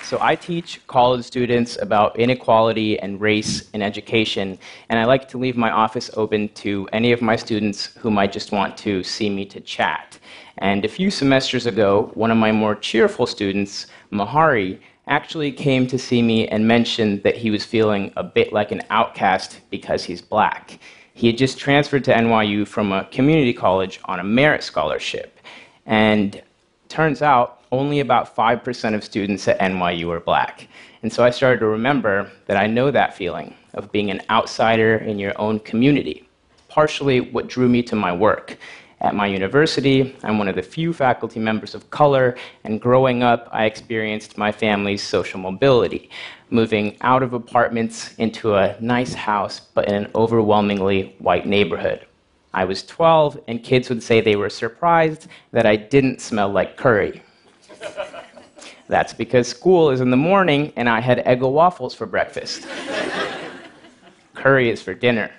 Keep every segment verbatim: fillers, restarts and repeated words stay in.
So I teach college students about inequality and race in education, and I like to leave my office open to any of my students who might just want to see me to chat. And a few semesters ago, one of my more cheerful students, Mahari, actually came to see me and mentioned that he was feeling a bit like an outcast because he's black. He had just transferred to N Y U from a community college on a merit scholarship, and turns out only about five percent of students at N Y U are black. And so I started to remember that I know that feeling of being an outsider in your own community, partially what drew me to my work. At my university, I'm one of the few faculty members of color, and growing up, I experienced my family's social mobility, moving out of apartments into a nice house, but in an overwhelmingly white neighborhood. I was twelve, and kids would say they were surprised that I didn't smell like curry. That's because school is in the morning, and I had Eggo waffles for breakfast. Curry is for dinner.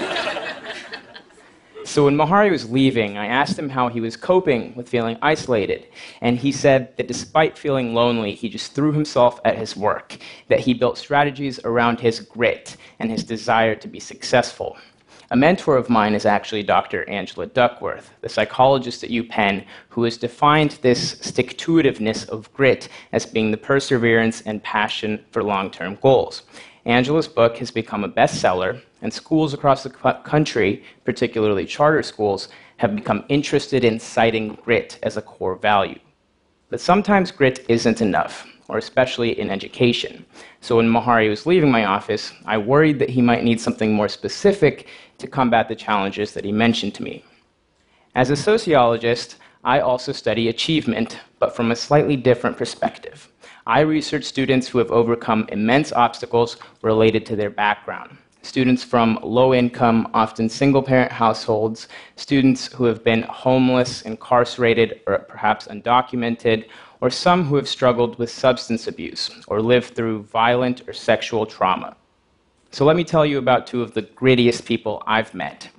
So when Mahari was leaving, I asked him how he was coping with feeling isolated, and he said that despite feeling lonely, he just threw himself at his work, that he built strategies around his grit and his desire to be successful. A mentor of mine is actually Doctor Angela Duckworth, the psychologist at UPenn, who has defined this stick-to-itiveness of grit as being the perseverance and passion for long-term goals. Angela's book has become a bestseller, and schools across the country, particularly charter schools, have become interested in citing grit as a core value. But sometimes grit isn't enough, or especially in education. So when Mahari was leaving my office, I worried that he might need something more specific to combat the challenges that he mentioned to me. As a sociologist, I also study achievement, but from a slightly different perspective. I research students who have overcome immense obstacles related to their background. Students from low-income, often single-parent households, students who have been homeless, incarcerated, or perhaps undocumented, or some who have struggled with substance abuse or lived through violent or sexual trauma. So let me tell you about two of the grittiest people I've met.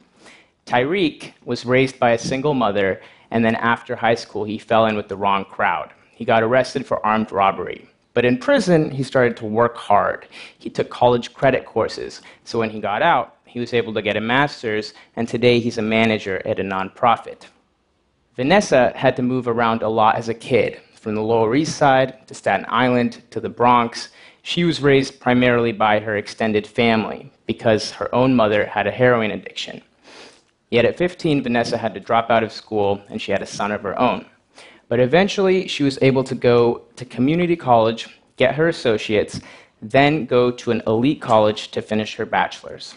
Tyreek was raised by a single mother, and then after high school, he fell in with the wrong crowd. He got arrested for armed robbery. But in prison, he started to work hard. He took college credit courses, so when he got out, he was able to get a master's, and today he's a manager at a nonprofit. Vanessa had to move around a lot as a kid, from the Lower East Side to Staten Island to the Bronx. She was raised primarily by her extended family because her own mother had a heroin addiction. Yet at fifteen, Vanessa had to drop out of school, and she had a son of her own. But eventually, she was able to go to community college, get her associates, then go to an elite college to finish her bachelor's.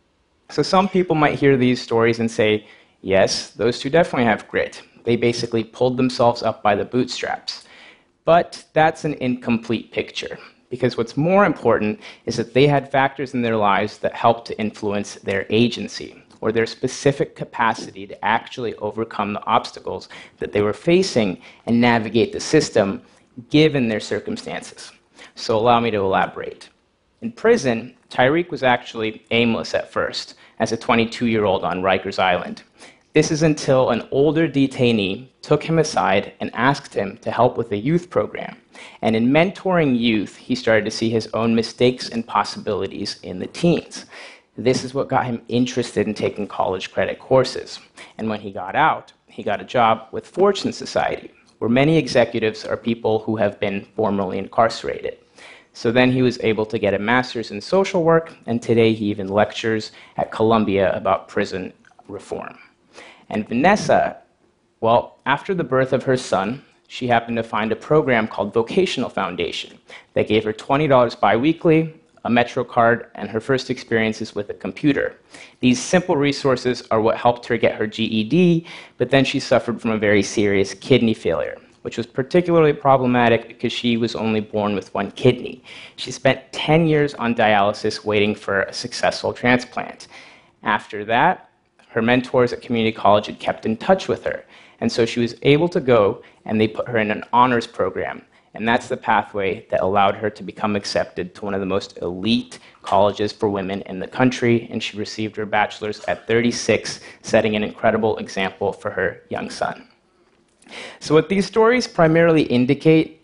So some people might hear these stories and say, yes, those two definitely have grit. They basically pulled themselves up by the bootstraps. But that's an incomplete picture, because what's more important is that they had factors in their lives that helped to influence their agency, or their specific capacity to actually overcome the obstacles that they were facing and navigate the system given their circumstances. So allow me to elaborate. In prison, Tyreek was actually aimless at first, as a twenty-two-year-old on Rikers Island. This is until an older detainee took him aside and asked him to help with a youth program. And in mentoring youth, he started to see his own mistakes and possibilities in the teens. This is what got him interested in taking college credit courses. And when he got out, he got a job with Fortune Society, where many executives are people who have been formerly incarcerated. So then he was able to get a master's in social work, and today he even lectures at Columbia about prison reform. And Vanessa, well, after the birth of her son, she happened to find a program called Vocational Foundation that gave her twenty dollars biweekly, a Metro card, and her first experiences with a computer. These simple resources are what helped her get her G E D, but then she suffered from a very serious kidney failure, which was particularly problematic because she was only born with one kidney. She spent ten years on dialysis waiting for a successful transplant. After that, her mentors at community college had kept in touch with her, and so she was able to go, and they put her in an honors program. And that's the pathway that allowed her to become accepted to one of the most elite colleges for women in the country, and she received her bachelor's at thirty-six, setting an incredible example for her young son. So what these stories primarily indicate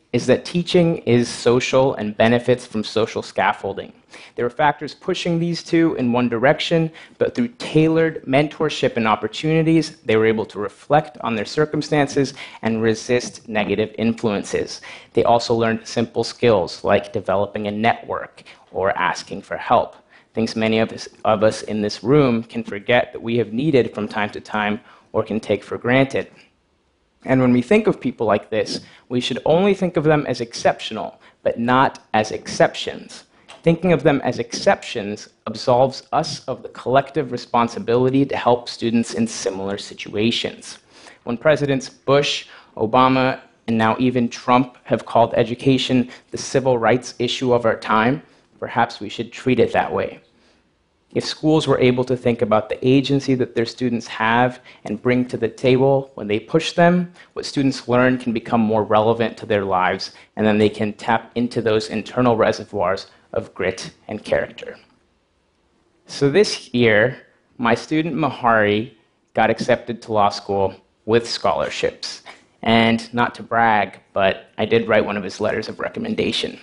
is that teaching is social and benefits from social scaffolding. There were factors pushing these two in one direction, but through tailored mentorship and opportunities, they were able to reflect on their circumstances and resist negative influences. They also learned simple skills like developing a network or asking for help, things many of us, of us in this room can forget that we have needed from time to time or can take for granted. And when we think of people like this, we should only think of them as exceptional, but not as exceptions. Thinking of them as exceptions absolves us of the collective responsibility to help students in similar situations. When Presidents Bush, Obama, and now even Trump have called education the civil rights issue of our time, perhaps we should treat it that way. If schools were able to think about the agency that their students have and bring to the table when they push them, what students learn can become more relevant to their lives, and then they can tap into those internal reservoirs of grit and character. So this year, my student Mahari got accepted to law school with scholarships. And not to brag, but I did write one of his letters of recommendation.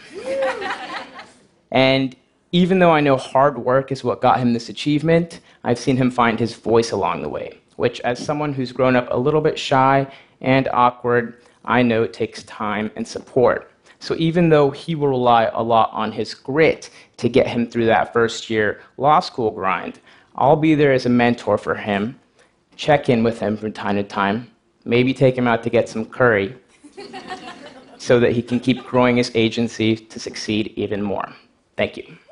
And even though I know hard work is what got him this achievement, I've seen him find his voice along the way, which, as someone who's grown up a little bit shy and awkward, I know it takes time and support. So even though he will rely a lot on his grit to get him through that first year law school grind, I'll be there as a mentor for him, check in with him from time to time, maybe take him out to get some curry, so that he can keep growing his agency to succeed even more. Thank you.